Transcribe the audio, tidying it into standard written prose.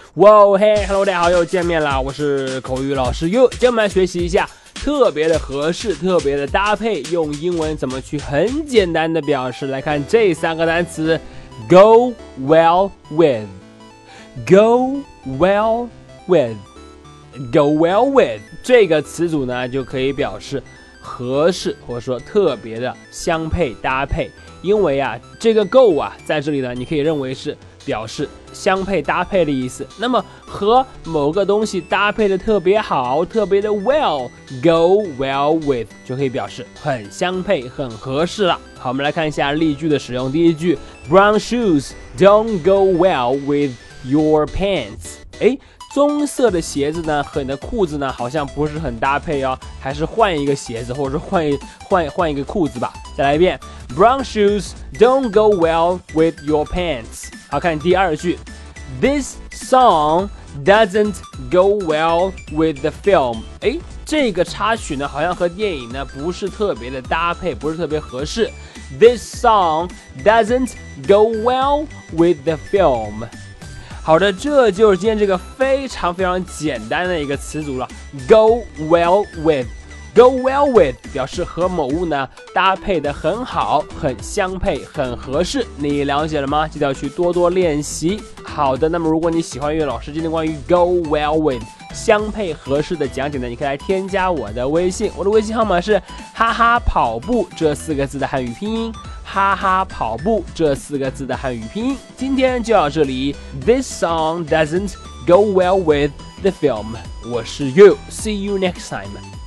哇嘿 ，Hello， 大家好，又见面啦！我是口语老师 You， 今天我们来学习一下特别的合适、特别的搭配，用英文怎么去很简单的表示。来看这3个单词 ：go well with，go well with，go well with 这个词组呢，就可以表示合适或者说特别的相配搭配。因为啊，这个 go 啊，在这里呢，你可以认为是表示相配搭配的意思。那么和某个东西搭配的特别好，特别的 well，go well with 就可以表示很相配、很合适了。好，我们来看一下例句的使用。第一句 ，Brown shoes don't go well with your pants。棕色的鞋子呢和你的裤子呢好像不是很搭配哦，还是换一个鞋子，或者说换一个裤子吧。再来一遍 ，Brown shoes don't go well with your pants。好，看第二句 ，This song doesn't go well with the film。这个插曲呢好像和电影呢不是特别的搭配，不是特别合适。This song doesn't go well with the film。好的，这就是今天这个非常非常简单的一个词组了 ，go well with。Go well with 表示和某物呢搭配的很好，很相配，很合适。你了解了吗？记得要去多多练习。好的，那么如果你喜欢岳老师今天关于 go well with 相配合适的讲解呢，你可以来添加我的微信，我的微信号码是哈哈跑步这4个字的汉语拼音。哈哈跑步这4个字的汉语拼音。今天就到这里。This song doesn't go well with the film。我是 You，see you next time。